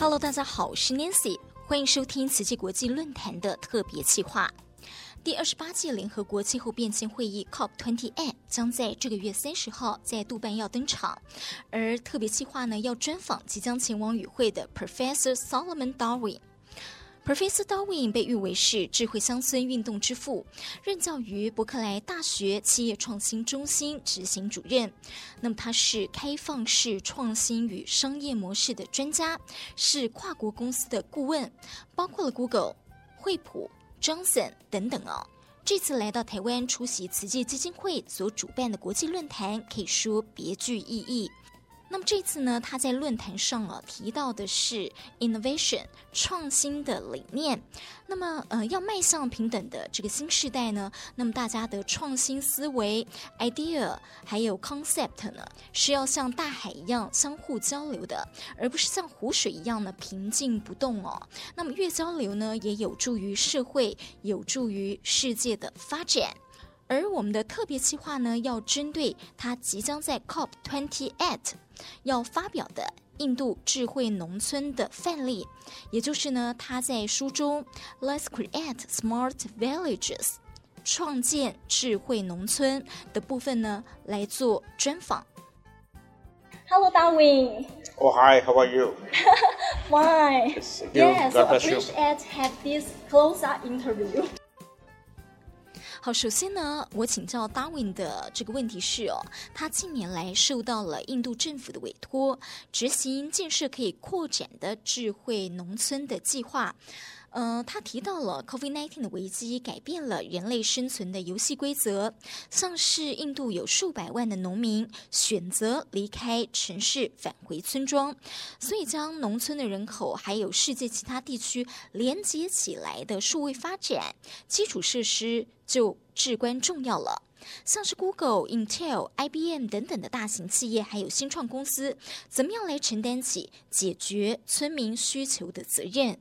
Hello， 大家好，我是 Nancy， 歡迎收聽慈濟國際論壇的特別企劃。第28屆聯合國氣候變遷會議 COP28 將在這個月30號在杜拜要登場，而特別企劃呢要專訪即將前往與會的 Professor Solomon Darwin。Professor Darwin 被譽為是智慧鄉村運動之父，任教於伯克萊大學企業創新中心執行主任。那麼他是開放式創新與商業模式的專家，是跨國公司的顧問，包括了 Google、惠普、Johnson 等等哦。這次來到台灣出席慈濟基金會所主辦的國際論壇，可以說別具意義。那麼這次呢，他在論壇上提到的是 innovation 創新的理念。那麼要邁向平等的這個新世代呢，那麼大家的創新思維 idea 還有 concept 呢，是要像大海一樣相互交流的，而不是像湖水一樣呢平靜不動哦。那麼越交流呢，也有助於社會，有助於世界的發展。而我們的特別企劃呢，要針對他即將在 COP28 要發表的印度智慧農村的範例，也就是呢，他在書中 Let's Create Smart Villages 創建智慧農村的部分呢，來做專訪。 Hello, Darwin. Oh, hi. How are you? Fine. Yes, so appreciate have this close-up interview. 好，首先呢，我請教 Darwin 的這個問題是他近年來受到了印度政府的委託，執行建設可以擴展的智慧農村的計劃。他提到了 COVID-19 的危機改變了人類生存的遊戲規則，像是印度有數百萬的農民選擇離開城市返回村莊，所以將農村的人口還有世界其他地區連接起來的數位發展基礎設施就至關重要了。像是 Google、Intel、IBM 等等的大型企業還有新創公司，怎麼樣來承擔起解決村民需求的責任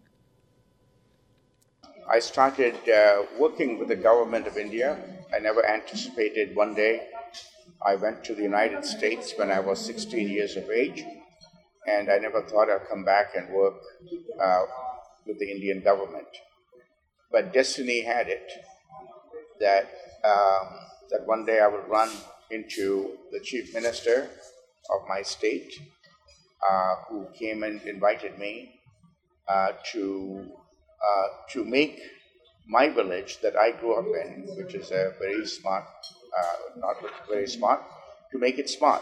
？I started working with the government of India. I never anticipated one day. I went to the United States when I was 16 years of age, and I never thought I'd come back and work with the Indian government. But destiny had it that one day I would run into the chief minister of my state, who came and invited me to make my village that I grew up in, which is a very smart, not very smart, to make it smart.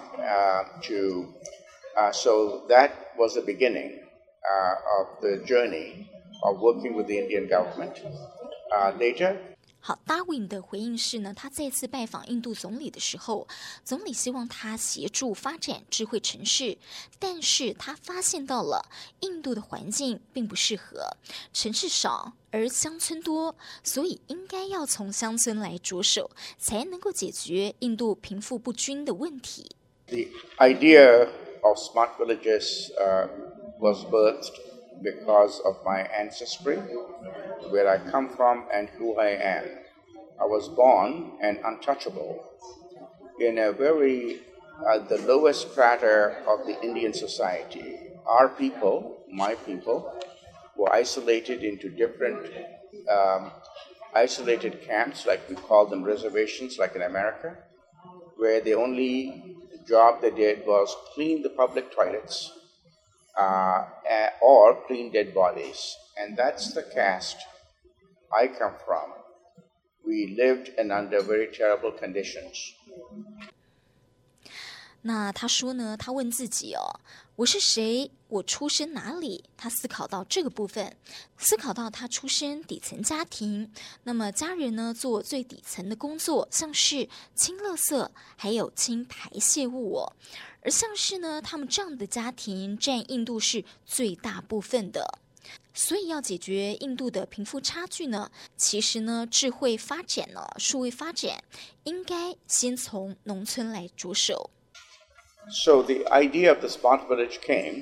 So that was the beginning of the journey of working with the Indian government. Later, 好，Darwin 的回應是呢，他再次拜訪印度總理的時候，總理希望他協助發展智慧城市，但是他發現到了印度的環境並不適合，城市少而鄉村多，所以應該要從鄉村來着手，才能夠解決印度貧富不均的問題。 The idea of smart villages was birthed because of my ancestry, where I come from and who I am. I was born an untouchable in a very, the lowest strata of the Indian society. Our people, my people, were isolated into different isolated camps, like we call them reservations, like in America, where the only job they did was clean the public toilets or clean dead bodies. And that's the caste I come from. We lived in under very terrible conditions. 那他說呢，他問自己我是誰？我出生哪裡？他思考到這個部分，思考到他出身底層家庭，那麼家人呢做最底層的工作，像是清垃圾，還有清排泄物而像是呢，他們這樣的家庭佔印度是最大部分的。所以要解決印度的貧富差距呢，其實呢，智慧發展數位發展，應該先從農村來着手。 So the idea of the smart village came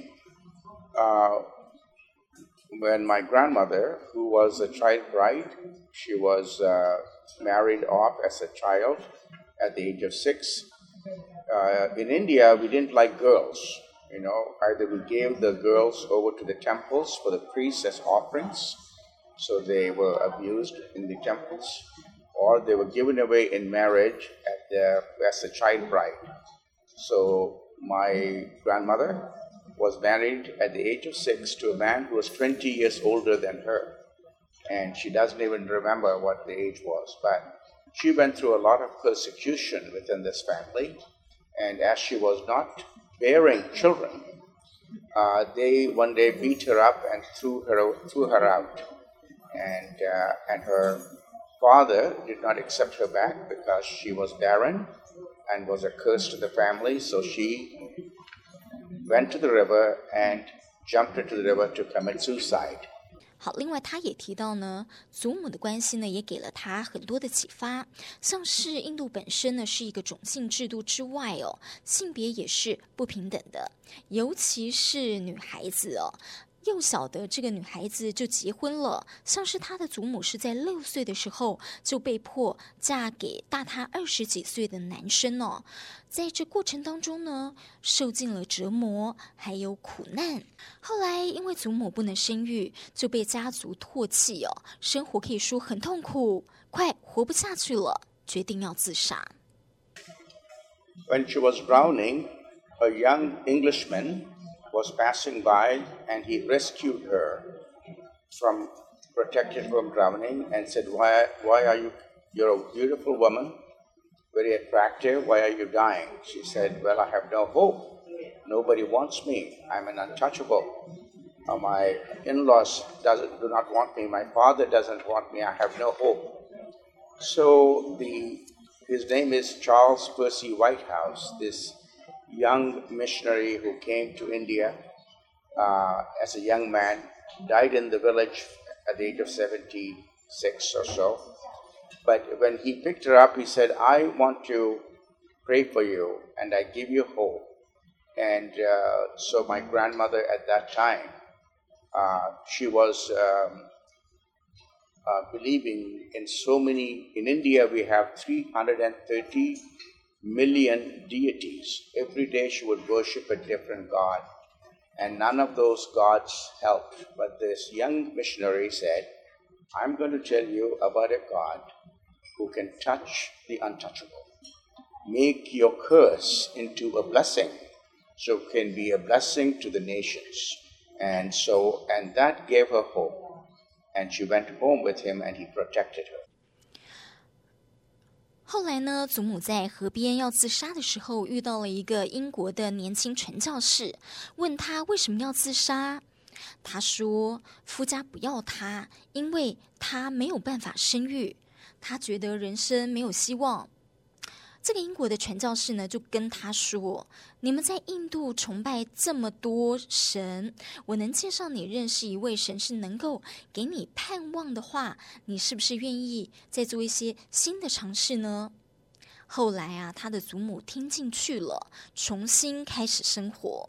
when my grandmother, who was a child bride, she was married off as a child at the age of 6. In India, we didn't like girls. Either we gave the girls over to the temples for the priests as offerings, so they were abused in the temples, or they were given away in marriage as a child bride. So my grandmother was married at the age of 6 to a man who was 20 years older than her. And she doesn't even remember what the age was. But she went through a lot of persecution within this family. And as she was not bearing children, they one day beat her up and threw her out. And her father did not accept her back because she was barren and was a curse to the family. So she went to the river and jumped into the river to commit suicide. 好，另外他也提到呢，祖母的關係呢，也給了他很多的啟發，像是印度本身呢是一個種姓制度之外哦，性別也是不平等的，尤其是女孩子哦。幼小的這個女孩子就結婚了，像是她的祖母是在6歲的時候就被迫嫁給大她20幾歲的男生哦，在這過程當中呢，受盡了折磨，還有苦難。後來因為祖母不能生育，就被家族唾棄哦，生活可以說很痛苦，快活不下去了，決定要自殺。 When she was drowning, a young Englishman was passing by and he rescued her protected from drowning and said, why are you're a beautiful woman, very attractive, why are you dying? She said, well, I have no hope. Nobody wants me. I'm an untouchable. My in-laws do not want me. My father doesn't want me. I have no hope. So his name is Charles Percy Whitehouse, this young missionary who came to India as a young man, died in the village at the age of 76 or so. But when he picked her up, he said, I want to pray for you and I give you hope. And so my grandmother at that time, she was believing in so many. In India, we have 330 million deities. Every day she would worship a different god, and none of those gods helped. But this young missionary said, I'm going to tell you about a God who can touch the untouchable, make your curse into a blessing, so it can be a blessing to the nations. And that gave her hope, and she went home with him and he protected her. 後來呢，祖母在河邊要自殺的時候，遇到了一個英國的年輕傳教士，問他為什麼要自殺。他說，夫家不要他，因為他沒有辦法生育，他覺得人生沒有希望。這個英國的傳教士呢，就跟他說，你們在印度崇拜這麼多神，我能介紹你認識一位神是能夠給你盼望的話，你是不是願意再做一些新的嘗試呢？後來啊，他的祖母聽進去了，重新開始生活。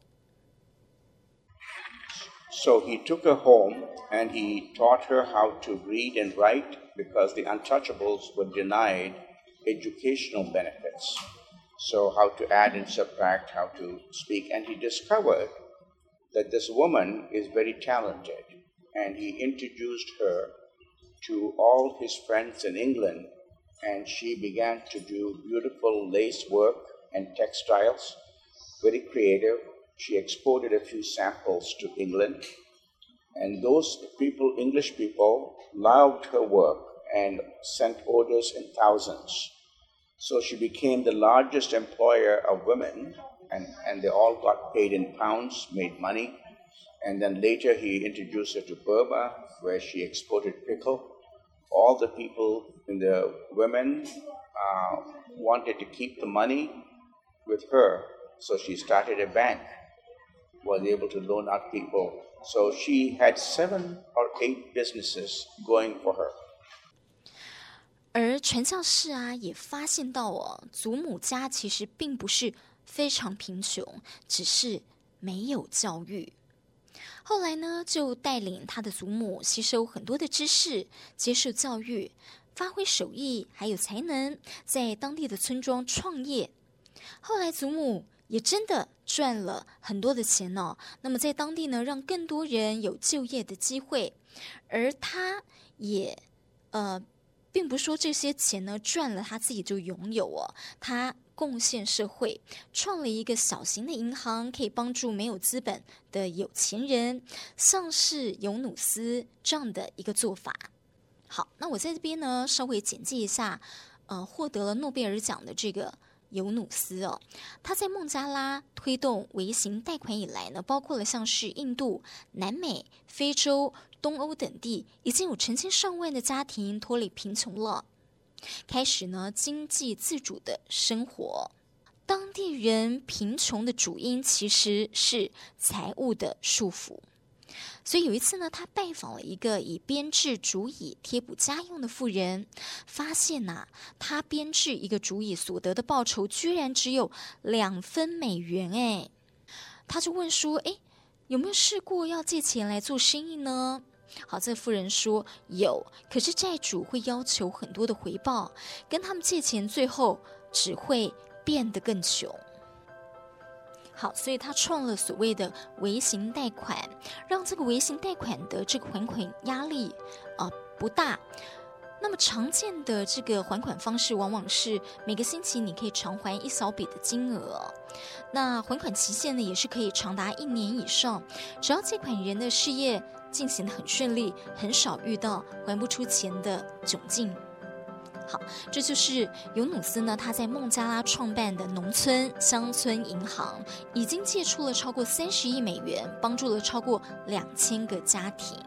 So he took her home and he taught her how to read and write because the untouchables were denied educational benefits. So how to add and subtract, how to speak. And he discovered that this woman is very talented. And he introduced her to all his friends in England. And she began to do beautiful lace work and textiles, very creative. She exported a few samples to England. And those people, English people, loved her work and sent orders in thousands. So she became the largest employer of women, and they all got paid in pounds, made money. And then later he introduced her to Burma, where she exported pickle. All the people, the women, wanted to keep the money with her. So she started a bank, was able to loan out people. So she had 7 or 8 businesses going for her. 而傳教士啊，也發現到哦，祖母家其實並不是非常貧窮，只是沒有教育。後來呢，就帶領他的祖母吸收很多的知識，接受教育，發揮手藝還有才能，在當地的村莊創業。後來祖母也真的賺了很多的錢哦。那麼在當地呢，讓更多人有就業的機會，而他也並不是說這些錢呢賺了他自己就擁有哦，他貢獻社會，創了一個小型的銀行，可以幫助沒有資本的有錢人，像是尤努斯這樣的一個做法。好，那我在這邊呢稍微簡介一下，獲得了諾貝爾獎的這個尤努斯哦，他在孟加拉推動微型貸款以來呢，包括了像是印度、南美、非洲、東歐等地，已經有成千上萬的家庭脫離貧窮了，開始呢經濟自主的生活。當地人貧窮的主因其實是財務的束縛。所以有一次呢，他拜訪了一個以編織竹椅貼補家用的婦人，發現他編織一個竹椅所得的報酬居然只有2分美元哎，他就問說，有沒有試過要借錢來做生意呢？好，這個婦人說有，可是債主會要求很多的回報，跟他們借錢最後只會變得更窮。好，所以他創了所謂的微型貸款，讓這個微型貸款的這個還款壓力不大。那麼常見的這個還款方式往往是每個星期你可以償還一小筆的金額，那還款期限呢也是可以長達1年以上，只要借款人的事業進行得很順利，很少遇到還不出錢的窘境。好，這就是尤努斯呢，他在孟加拉創辦的農村鄉村銀行，已經借出了超過30億美元，幫助了超過2000個家庭。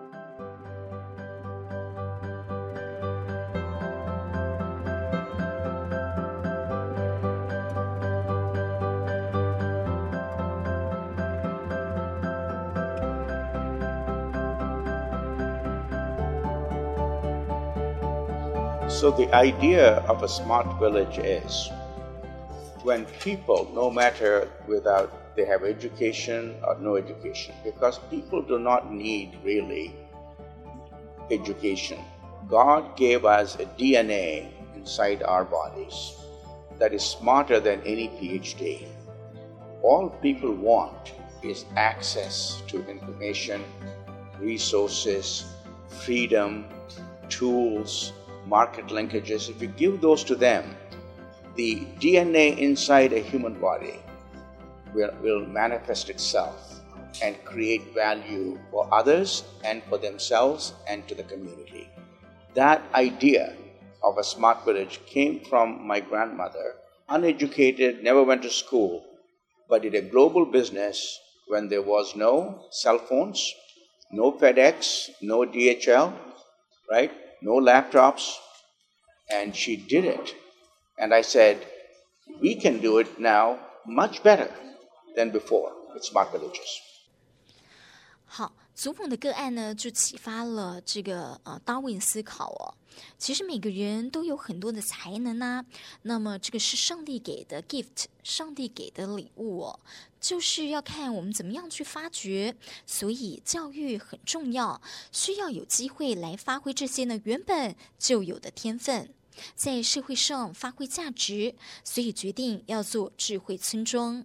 So the idea of a smart village is when people, no matter whether they have education or no education, because people do not need really education. God gave us a DNA inside our bodies that is smarter than any PhD. All people want is access to information, resources, freedom, tools, market linkages. If you give those to them, the DNA inside a human body will manifest itself and create value for others and for themselves and to the community. That idea of a smart village came from my grandmother, uneducated, never went to school, but did a global business when there was no cell phones, no FedEx, no DHL, right? No laptops, and she did it. And I said, we can do it now much better than before with smart villages. 好，祖母的個案呢，就啟發了這個達文思考哦。其實每個人都有很多的才能啊，那麼這個是上帝給的 gift， 上帝給的禮物哦，就是要看我們怎麼樣去發掘。所以教育很重要，需要有機會來發揮這些呢原本就有的天分，在社會上發揮價值，所以決定要做智慧村莊。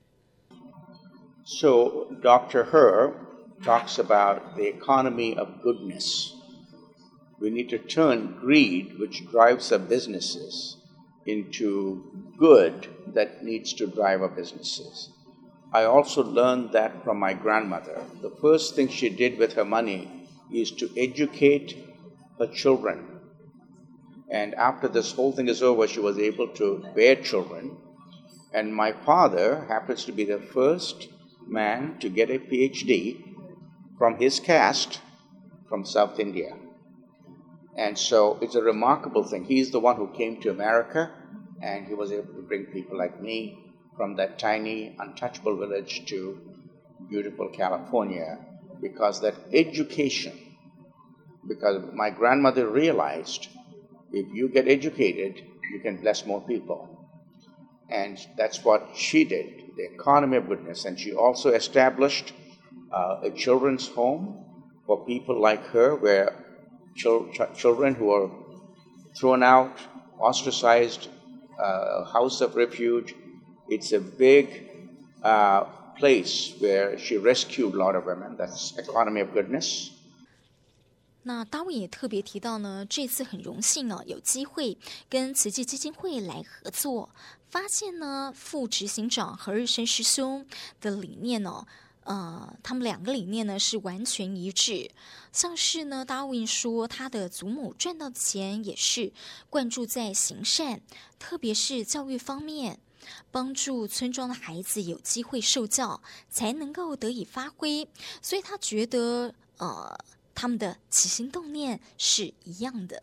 So Dr. Herr talks about the economy of goodness. We need to turn greed, which drives our businesses, into good that needs to drive our businesses. I also learned that from my grandmother. The first thing she did with her money is to educate her children. And after this whole thing is over, she was able to bear children. And my father happens to be the first man to get a PhD from his caste from South India. And so it's a remarkable thing. He's the one who came to America, and he was able to bring people like me from that tiny, untouchable village to beautiful California, because that education, because my grandmother realized if you get educated, you can bless more people. And that's what she did, the economy of goodness. And she also established a children's home for people like her, where children who are thrown out, ostracized, a house of refuge, It's a big place where she rescued a lot of women. That's economy of goodness. 那达文也特別提到呢，這次很榮幸哦，有機會跟慈濟基金會來合作，發現呢，副執行長何日升師兄的理念哦，他們兩個理念呢是完全一致。像是呢，達文說他的祖母賺到的錢也是灌注在行善，特別是教育方面，幫助村莊的孩子有機會受教，才能夠得以發揮。所以他覺得他們的起心動念是一樣的。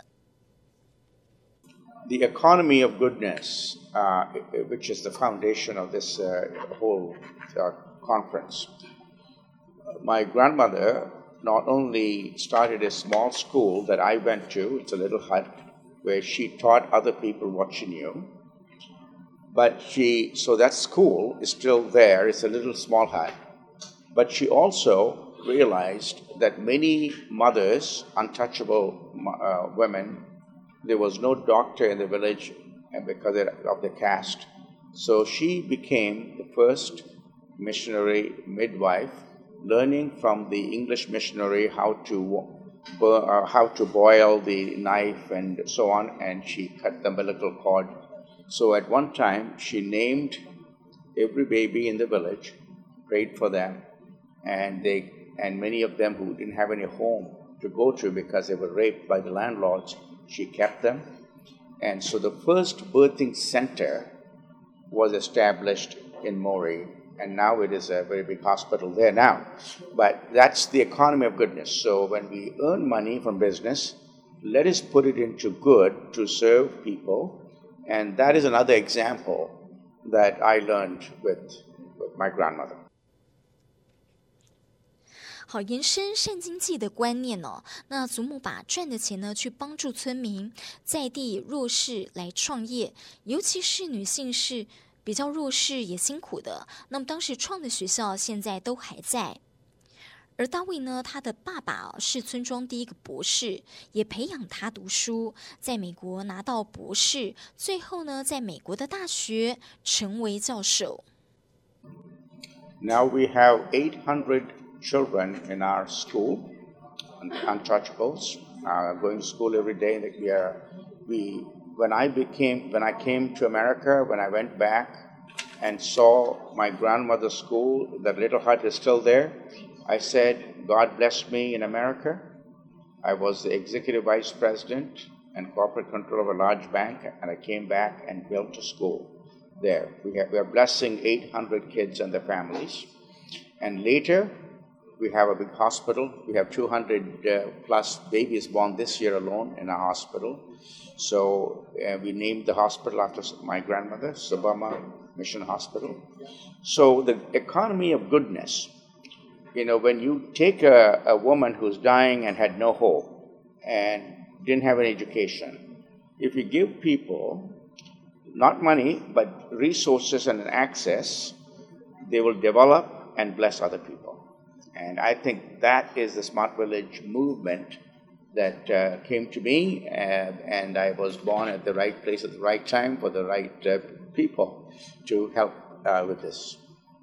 The economy of goodness, which is the foundation of this whole conference. My grandmother not only started a small school that I went to, it's a little hut, where she taught other people what she knew. But so that school is still there, it's a little small hut. But she also realized that many mothers, untouchable women, there was no doctor in the village because of the caste. So she became the first missionary midwife, learning from the English missionary how to boil the knife and so on, and she cut the umbilical cord. So at one time, she named every baby in the village, prayed for them, and many of them who didn't have any home to go to because they were raped by the landlords, she kept them. And so the first birthing center was established in Moree, and now it is a very big hospital there now. But that's the economy of goodness. So when we earn money from business, let us put it into good to serve people. And that is another example that I learned with my grandmother. 好，延伸善經濟的觀念哦。那祖母把賺的錢呢，去幫助村民在地弱勢來創業，尤其是女性是比較弱勢也辛苦的。那麼當時創的學校現在都還在。而大衛呢，他的爸爸是村莊第一個博士，也培養他讀書，在美國拿到博士，最後呢，在美國的大學成為教授。 Now we have 800 children in our school, untouchables, going to school every day. When I came to America, when I went back and saw my grandmother's school, that little hut is still there, I said, God blessed me in America. I was the executive vice president and corporate controller of a large bank, and I came back and built a school there. We are blessing 800 kids and their families. And later, we have a big hospital. We have 200 plus babies born this year alone in our hospital. So we named the hospital after my grandmother, Subama Mission Hospital. So the economy of goodness, when you take a woman who's dying and had no hope and didn't have an education, if you give people not money but resources and access, they will develop and bless other people. And I think that is the Smart Village movement that came to me, and I was born at the right place at the right time for the right people to help with this.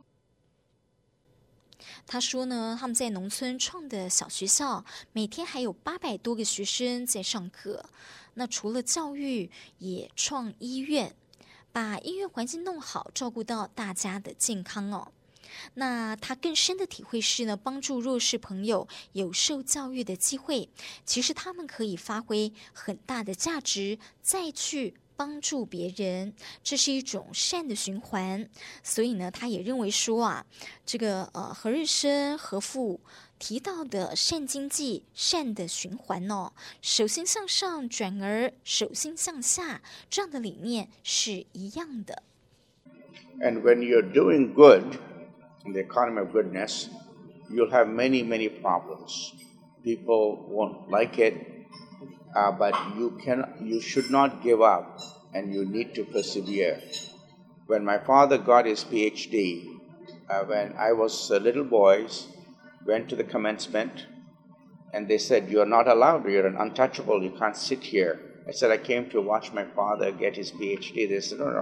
他說呢，他們在農村創的小學校，每天還有800多個學生在上課。那除了教育，也創醫院，把醫院環境弄好，照顧到大家的健康哦。那他更深的體會是呢，幫助弱勢朋友有受教育的機會，其實他們可以發揮很大的價值，再去幫助別人，這是一種善的循環。所以呢，他也認為說啊，這個何日升何父提到的善經濟、善的循環哦，手心向上轉而手心向下，這樣的理念是一樣的。 And when you're doing good in the economy of goodness, you'll have many, many problems. People won't like it, but you should not give up, and you need to persevere. When my father got his PhD, when I was a little boy, went to the commencement, and they said, "You're not allowed, you're an untouchable, you can't sit here." I said, "I came to watch my father get his PhD." They said, "No,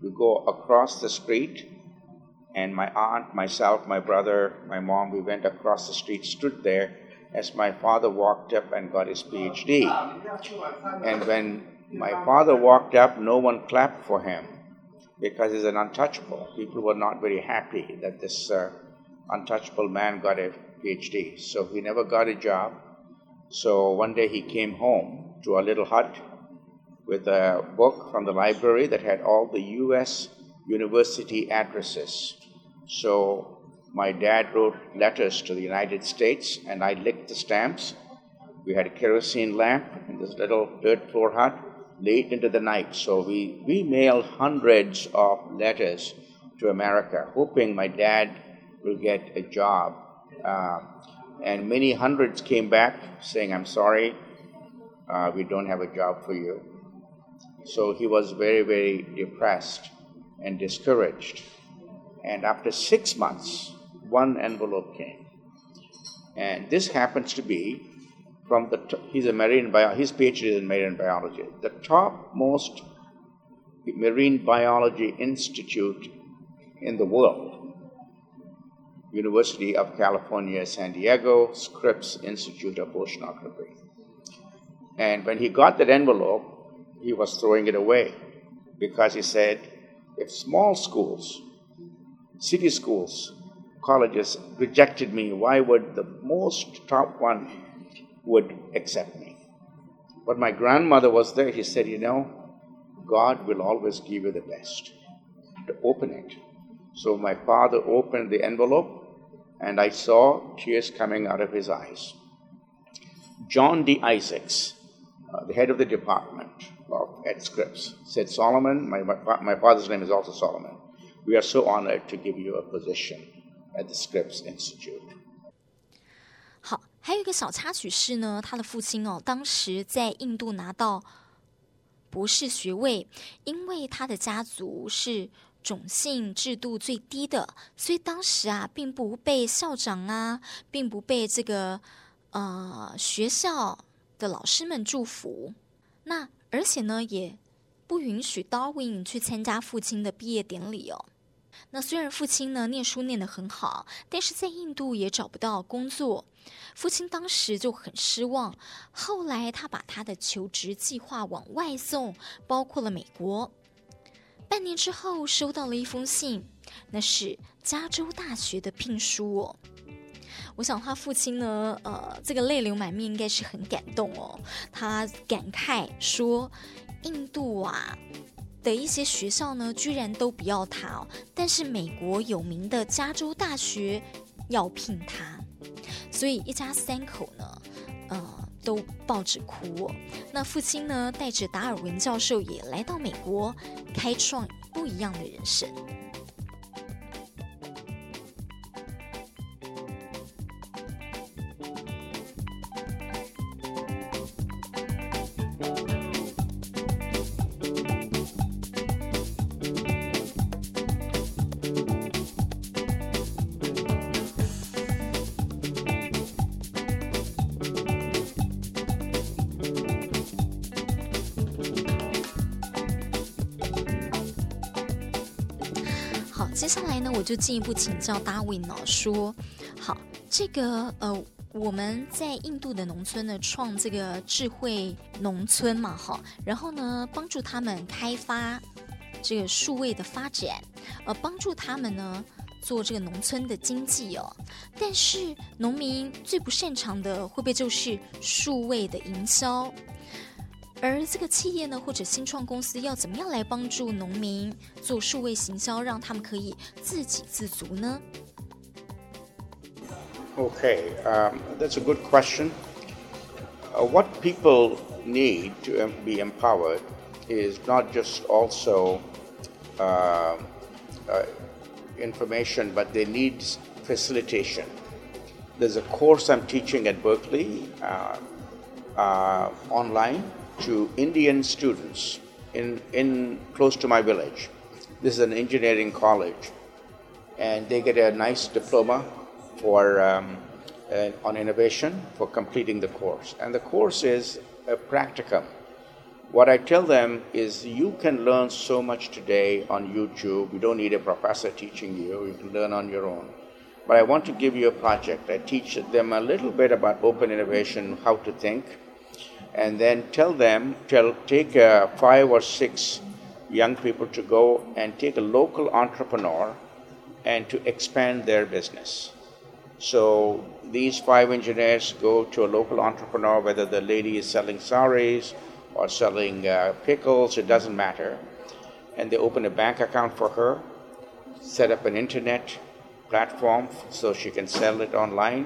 We go across the street, and my aunt, myself, my brother, my mom, we went across the street, stood there as my father walked up and got his PhD. And when my father walked up, no one clapped for him because he's an untouchable. People were not very happy that this untouchable man got a PhD. So he never got a job. So one day he came home to a little hut with a book from the library that had all the U.S. university addresses. So my dad wrote letters to the United States, and I licked the stamps. We had a kerosene lamp in this little dirt floor hut late into the night. So we mailed hundreds of letters to America, hoping my dad will get a job. And many hundreds came back saying, I'm sorry, we don't have a job for you. So he was very, very depressed and discouraged. And after 6 months, one envelope came. And this happens to be from he's a his PhD is in marine biology. The topmost marine biology institute in the world, University of California, San Diego, Scripps Institute of Oceanography. And when he got that envelope, he was throwing it away because he said, if small schools, city schools, colleges rejected me, why would the most top one would accept me? But my grandmother was there. He said, God will always give you the best. To open it. So my father opened the envelope, and I saw tears coming out of his eyes. John D. Isaacs, the head of the department at Scripps, said, Solomon, my father's name is also Solomon, we are so honored to give you a position at the Scripps Institute. 好，还有一个小插曲是呢，他的父亲当时在印度拿到博士学位，因為他的家族是種姓制度最低的，所以當時並不被校長並不被這個學校的老師們祝福。那而且呢，也不允許 Darwin 去參加父親的畢業典禮哦。那雖然父親呢念書念得很好，但是在印度也找不到工作，父親當時就很失望。後來他把他的求職計劃往外送，包括了美國。半年之後收到了一封信，那是加州大學的聘書哦。我想他父親呢，這個淚流滿面，應該是很感動哦。他感慨說，印度的一些學校呢，居然都不要他哦，但是美國有名的加州大學要聘他，所以一家三口呢，都抱着哭哦。那父親呢，帶着達爾文教授也來到美國，開創不一樣的人生。接下來呢，我就進一步請教 Darwin 說，好，這個我們在印度的農村呢，創這個智慧農村嘛，然後呢，幫助他們開發這個數位的發展，幫助他們呢做這個農村的經濟哦。但是農民最不擅長的，會不會就是數位的營銷？而這個企業呢，或者新創公司要怎麼樣來幫助農民做數位行銷，讓他們可以自給自足呢？ Okay, that's a good question. What people need to be empowered is not just also information, but they need facilitation. There's a course I'm teaching at Berkeley online to Indian students in close to my village. This is an engineering college, and they get a nice diploma for on innovation for completing the course. And the course is a practicum What I tell them is you can learn so much today on YouTube. You don't need a professor teaching you. You can learn on your own. But I want to give you a project. I teach them a little bit about open innovation, how to think, and then take 5 or 6 young people to go and take a local entrepreneur and to expand their business. So these 5 engineers go to a local entrepreneur, whether the lady is selling saris or selling pickles, it doesn't matter. And they open a bank account for her, set up an internet platform so she can sell it online,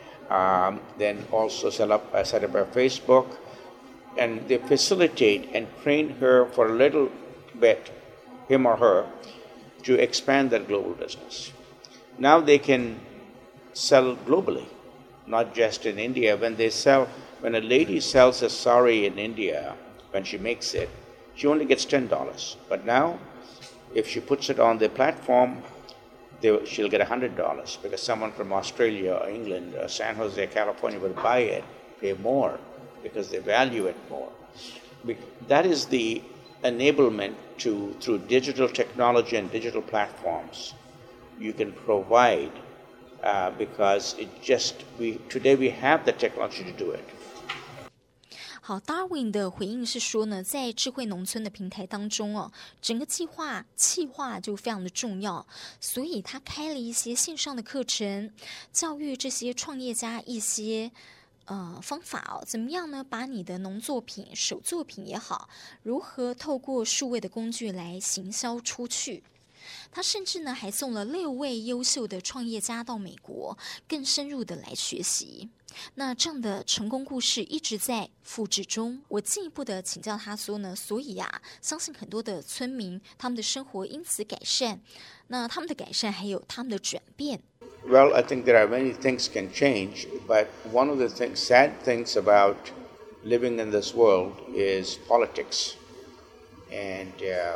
then also set up a Facebook, and they facilitate and train her for a little bit, him or her, to expand their global business. Now they can sell globally, not just in India. When a lady sells a sari in India, when she makes it, she only gets $10. But now, if she puts it on the platform, she'll get $100 because someone from Australia or England or San Jose, California will buy it, pay more because they value it more. That is the enablement through digital technology and digital platforms you can provide because today we have the technology to do it. 好 ，Darwin 的回应是说呢，在智慧農村的平台當中哦，整個企劃就非常的重要，所以他開了一些線上的課程，教育這些創業家一些方法哦，怎麼樣呢？把你的農作品、手作品也好，如何透過數位的工具來行銷出去。他甚至呢還送了6位優秀的創業家到美國，更深入的來學習。那這樣的成功故事一直在複製中。我進一步的請教他說呢，所以相信很多的村民他們的生活因此改善。那他們的改善還有他們的轉變。 Well, I think there are many things can change, but one of the sad things about living in this world is politics. And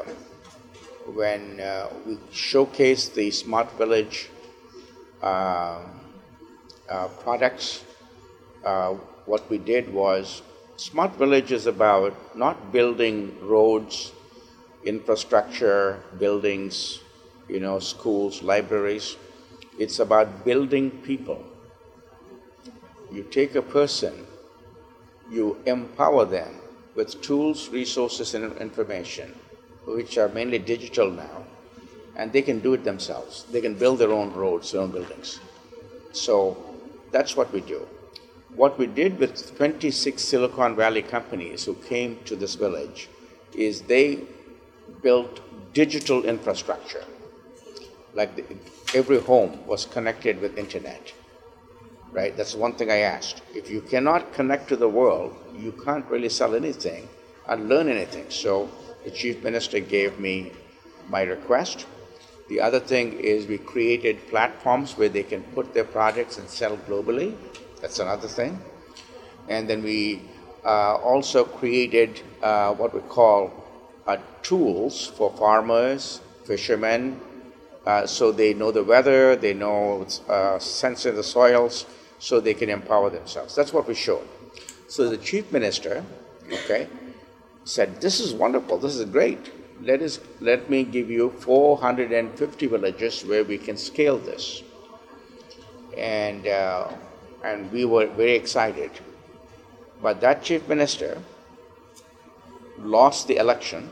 when we showcase the Smart Village products, what we did was, Smart Village is about not building roads, infrastructure, buildings, schools, libraries. It's about building people. You take a person, you empower them with tools, resources, and information, which are mainly digital now, and they can do it themselves. They can build their own roads, their own buildings. So that's what we do. What we did with 26 Silicon Valley companies who came to this village is they built digital infrastructure. Like every home was connected with internet, right? That's one thing I asked. If you cannot connect to the world, you can't really sell anything and learn anything. So the chief minister gave me my request. The other thing is we created platforms where they can put their products and sell globally. That's another thing. And then we also created what we call tools for farmers, fishermen, so they know the weather, they know sense of the soils, so they can empower themselves. That's what we showed. So the chief minister, said, this is wonderful, this is great. Let me give you 450 villages where we can scale this. And we were very excited. But that chief minister lost the election.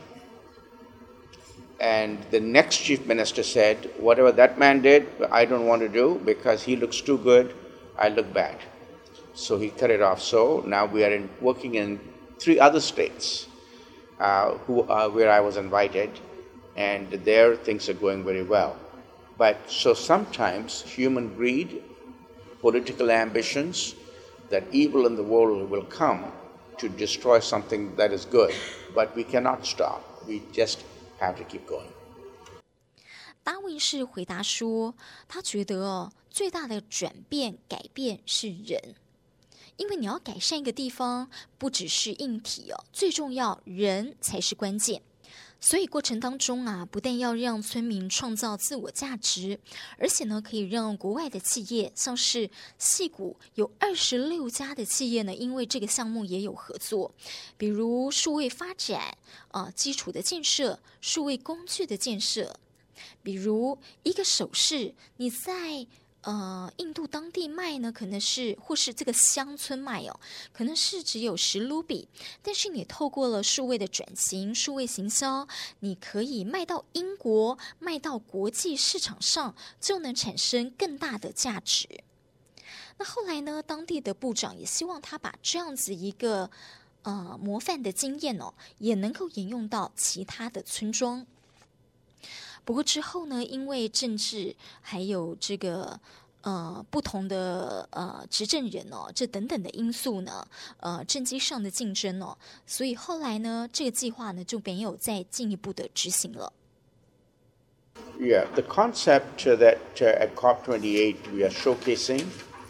And the next chief minister said, whatever that man did, I don't want to do because he looks too good, I look bad. So he cut it off. So now we are working in 3 other states where I was invited, and there things are going very well. But so sometimes human greed, political ambitions, that evil in the world will come to destroy something that is good. But we cannot stop. We just have to keep going. 达文士回答说，他覺得最大的改變是人，因為你要改善一個地方，不只是硬體最重要人才是關鍵。 所以過程當中啊，不但要讓村民創造自我價值，而且呢，可以讓國外的企業，像是矽谷有26家的企業呢，因為這個項目也有合作，比如數位發展基礎的建設、數位工具的建設，比如一個首飾，你在印度當地賣呢，可能是或是這個鄉村賣可能是只有10盧比，但是你透過了數位的轉型、數位行銷，你可以賣到英國、賣到國際市場上，就能產生更大的價值。那後來呢，當地的部長也希望他把這樣子一個模範的經驗也能夠沿用到其他的村莊。不過之後呢，因為政治還有這個不同的執政人這等等的因素呢，政績上的競爭所以後來呢，這個計劃呢就沒有再進一步的執行了。 Yeah, the concept that at COP28 we are showcasing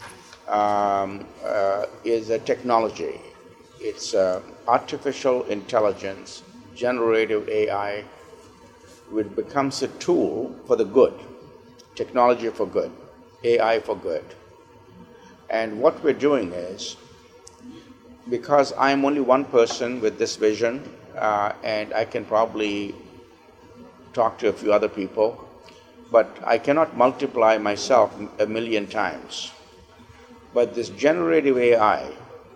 is a technology. It's artificial intelligence, generative AI, which becomes a tool for the good, technology for good, AI for good. And what we're doing is, because I'm only one person with this vision, and I can probably talk to a few other people, but I cannot multiply myself a million times. But this generative AI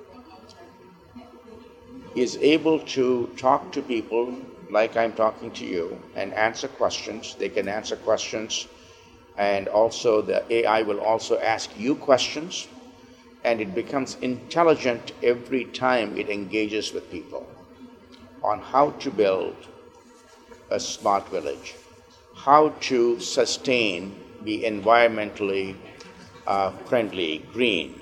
is able to talk to people like I'm talking to you and answer questions. They can answer questions, and also the AI will also ask you questions, and it becomes intelligent every time it engages with people on how to build a smart village, how to sustain, be environmentally friendly, green,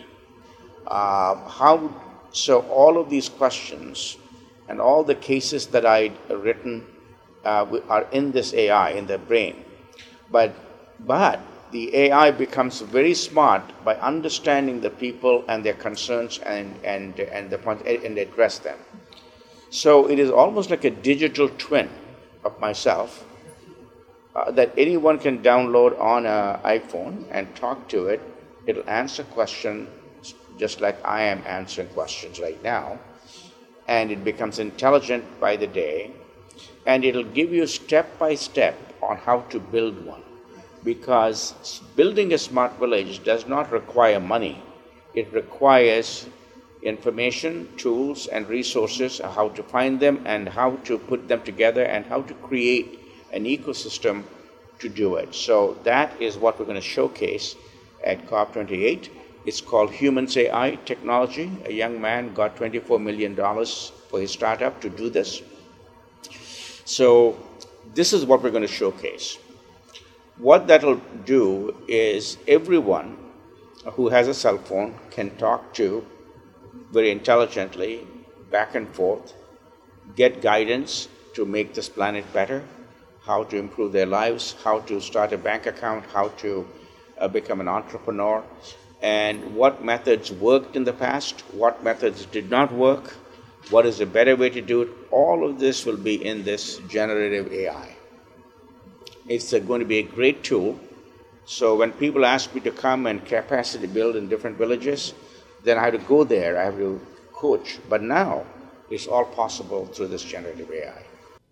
so all of these questions and all the cases that I'd written are in this AI, in the brain. But the AI becomes very smart by understanding the people and their concerns and address them. So it is almost like a digital twin of myself that anyone can download on an iPhone and talk to it. It'll answer questions just like I am answering questions right now. And it becomes intelligent by the day. And it'll give you step by step on how to build one. Because building a smart village does not require money. It requires information, tools, and resources, how to find them and how to put them together and how to create an ecosystem to do it. So that is what we're going to showcase at COP28. It's called Humans AI Technology. A young man got $24 million for his startup to do this. So this is what we're going to showcase. What that'll do is everyone who has a cell phone can talk to very intelligently, back and forth, get guidance to make this planet better, how to improve their lives, how to start a bank account, how to become an entrepreneur, and what methods worked in the past, what methods did not work, what is a better way to do it. All of this will be in this generative AI. It's going to be a great tool. So when people ask me to come and capacity build in different villages, then I have to go there, I have to coach. But now it's all possible through this generative AI.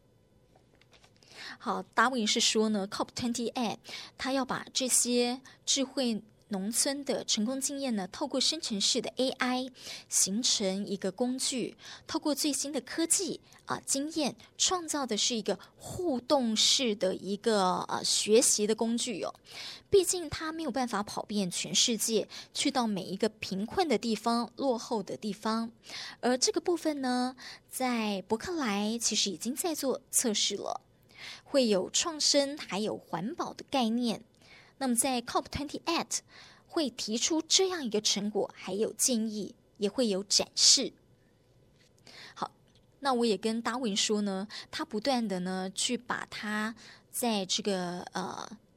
好，达文是说呢 ，COP28 他要把这些智慧農村的成功經驗呢，透過生成式的 AI 形成一個工具，透過最新的科技經驗，創造的是一個互動式的一個學習的工具哦。畢竟它沒有辦法跑遍全世界，去到每一個貧困的地方、落後的地方。而這個部分呢，在伯克萊其實已經在做測試了，會有創生還有環保的概念。那麼在 COP28 會提出這樣一個成果，還有建議，也會有展示。好，那我也跟達文說呢，他不斷的呢去把他在這個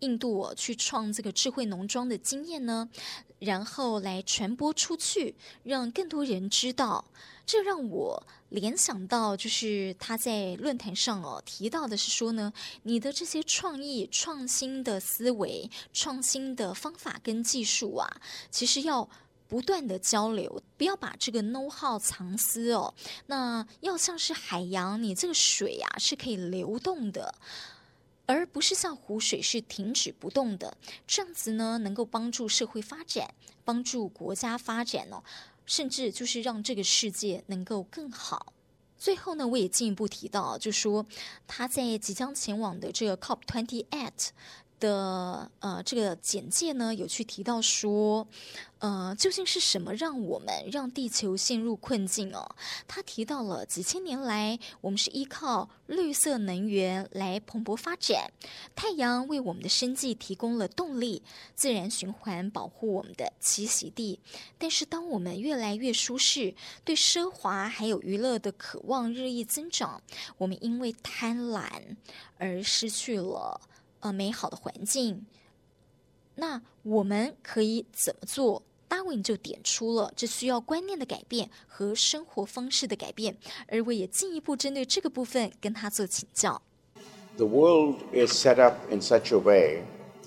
印度去創這個智慧農莊的經驗呢，然後來傳播出去，讓更多人知道。這讓我聯想到，就是他在論壇上提到的是說呢，你的這些創意、創新的思維、創新的方法跟技術啊，其實要不斷的交流，不要把這個 know how 藏私哦。那要像是海洋，你這個水啊是可以流動的，而不是像湖水是停止不動的。這樣子呢，能夠幫助社會發展，幫助國家發展哦。甚至就是讓這個世界能夠更好。最後呢，我也進一步提到，就說他在即將前往的這個 COP28的這個簡介呢，有去提到說，究竟是什麼讓地球陷入困境哦？他提到了幾千年來，我們是依靠綠色能源來蓬勃發展，太陽為我們的生計提供了動力，自然循環保護我們的棲息地。但是，當我們越來越舒適，對奢華還有娛樂的渴望日益增長，我們因為貪婪而失去了美好的環境。那我們可以怎麼做？達文就點出了這需要觀念的改變和生活方式的改變，而我也進一步針對這個部分跟他做請教。 The world is set up in such a way.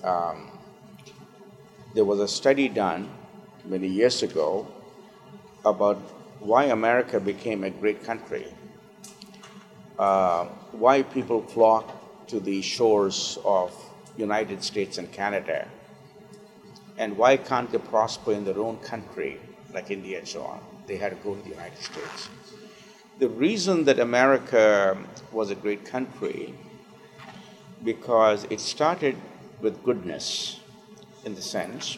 There was a study done many years ago about why America became a great country, why people flock to the shores of United States and Canada, and why can't they prosper in their own country, like India and so on? They had to go to the United States. The reason that America was a great country, because it started with goodness, in the sense,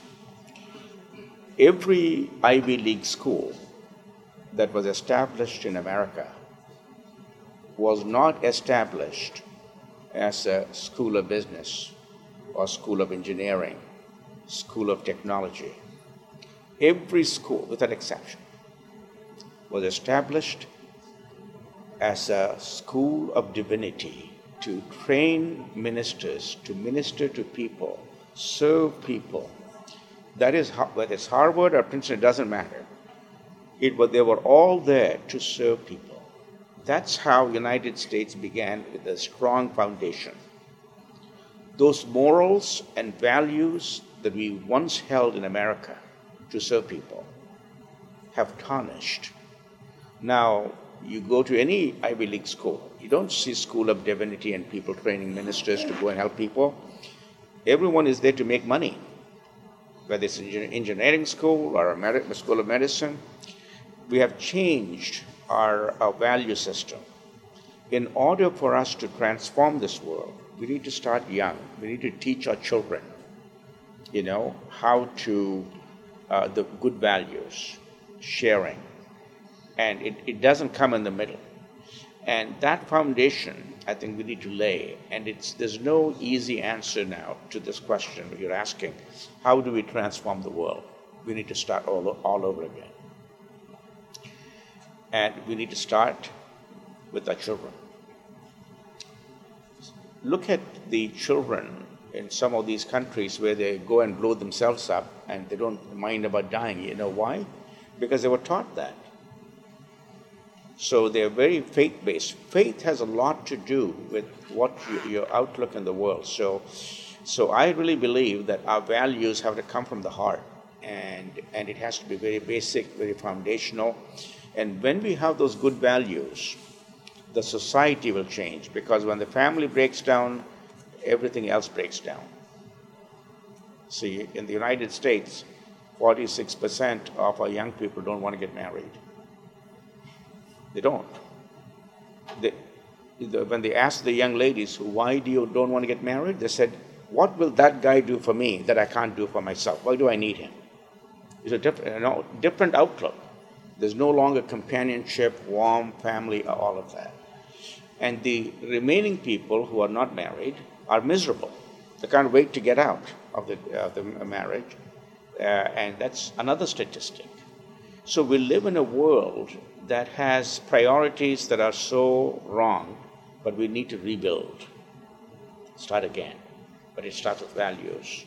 every Ivy League school that was established in America was not established as a school of business or school of engineering, school of technology. Every school, without exception, was established as a school of divinity to train ministers, to minister to people, serve people. That is, whether it's Harvard or Princeton, it doesn't matter. They were all there to serve people. That's how the United States began, with a strong foundation. Those morals and values that we once held in America to serve people have tarnished. Now, you go to any Ivy League school, you don't see school of divinity and people training ministers to go and help people. Everyone is there to make money, whether it's an engineering school or a school of medicine. We have changed our value system. In order for us to transform this world, we need to start young. We need to teach our children, how to, the good values, sharing. And it doesn't come in the middle. And that foundation, I think we need to lay. And there's no easy answer now to this question you're asking. How do we transform the world? We need to start all over again. And we need to start with our children. Look at the children in some of these countries where they go and blow themselves up and they don't mind about dying. You know why? Because they were taught that. So they're very faith-based. Faith has a lot to do with what your outlook in the world. So I really believe that our values have to come from the heart, and it has to be very basic, very foundational. And when we have those good values, the society will change, because when the family breaks down, everything else breaks down. See, in the United States, 46% of our young people don't want to get married. They don't. When they asked the young ladies, why do you don't want to get married? They said, what will that guy do for me that I can't do for myself? Why do I need him? It's a different outlook. There's no longer companionship, warm family, all of that. And the remaining people who are not married are miserable. They can't wait to get out of the marriage. And that's another statistic. So we live in a world that has priorities that are so wrong, but we need to rebuild, start again. but it starts with values.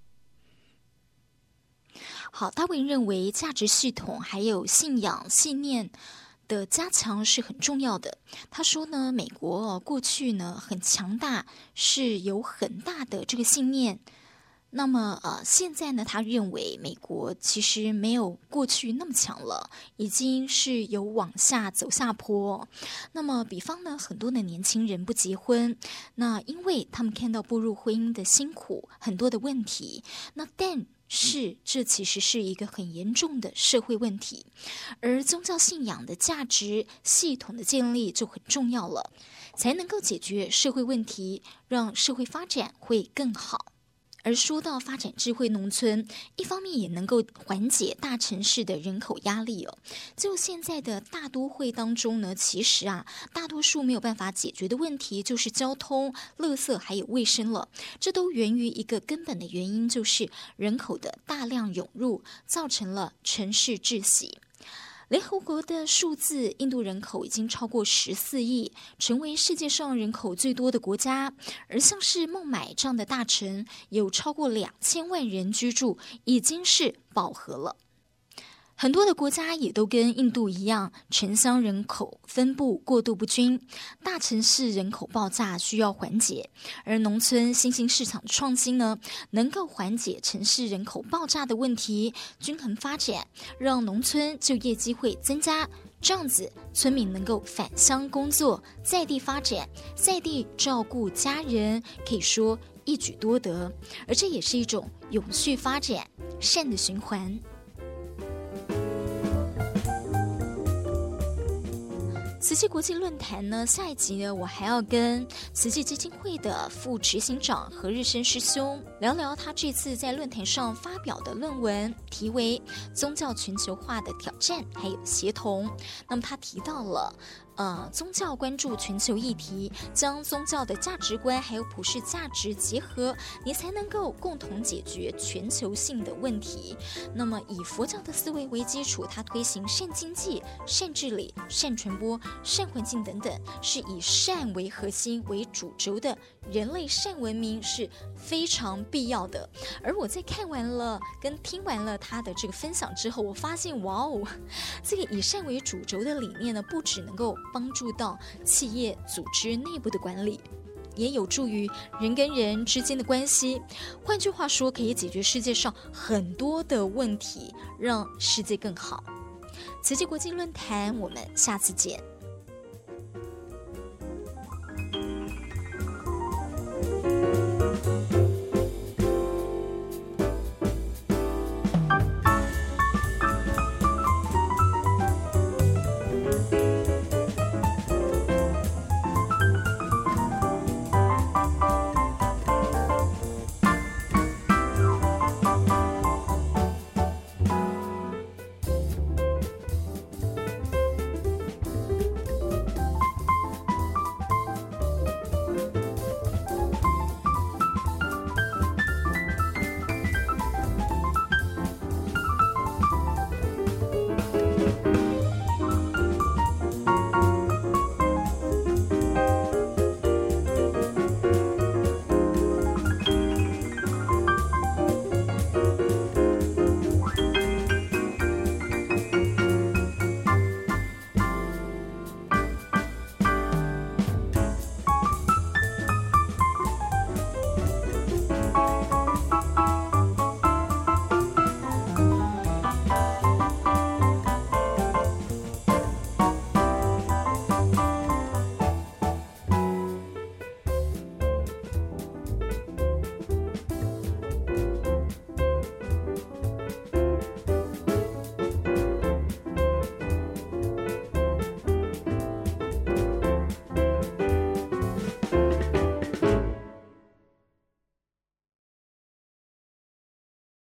好，达文認為價值系統還有信仰信念的加強是很重要的。他說呢，美國過去呢很強大，是有很大的這個信念。那麼現在呢，他認為美國其實沒有過去那麼強了，已經是有往下走下坡。那麼比方呢，很多的年輕人不結婚，那因為他們看到步入婚姻的辛苦，很多的問題。那但是這其實是一個很嚴重的社會問題，而宗教信仰的價值系統的建立就很重要了，才能夠解決社會問題，讓社會發展會更好。而說到發展智慧農村，一方面也能夠緩解大城市的人口壓力哦。就現在的大都會當中呢，其實大多數沒有辦法解決的問題就是交通、垃圾還有衛生了。這都源於一個根本的原因，就是人口的大量湧入，造成了城市窒息。聯合國的數字，印度人口已經超過14億，成為世界上人口最多的國家。而像是孟買這樣的大城，有超過2000萬人居住，已經是飽和了。很多的國家也都跟印度一樣，城鄉人口分布過度不均，大城市人口爆炸需要緩解，而農村新興市場的創新呢，能夠緩解城市人口爆炸的問題，均衡發展，讓農村就業機會增加，這樣子村民能夠返鄉工作，在地發展，在地照顧家人，可以說一舉多得，而這也是一種永續發展，善的循環。慈濟國際論壇呢，下一集呢，我還要跟慈濟基金會的副執行長何日升師兄聊聊他這次在論壇上發表的論文，題為《宗教全球化的挑戰還有協同》。那麼他提到了宗教關注全球議題，將宗教的價值觀還有普世價值結合，你才能夠共同解決全球性的問題。那麼以佛教的思維為基礎，他推行善經濟、善治理、善傳播、善環境等等，是以善為核心為主軸的人類善文明是非常必要的。而我在看完了跟聽完了他的這個分享之後，我發現哇哦，這個以善為主軸的理念呢，不只能夠幫助到企業組織內部的管理，也有助於人跟人之間的關係。換句話說，可以解決世界上很多的問題，讓世界更好。慈濟國際論壇，我們下次見。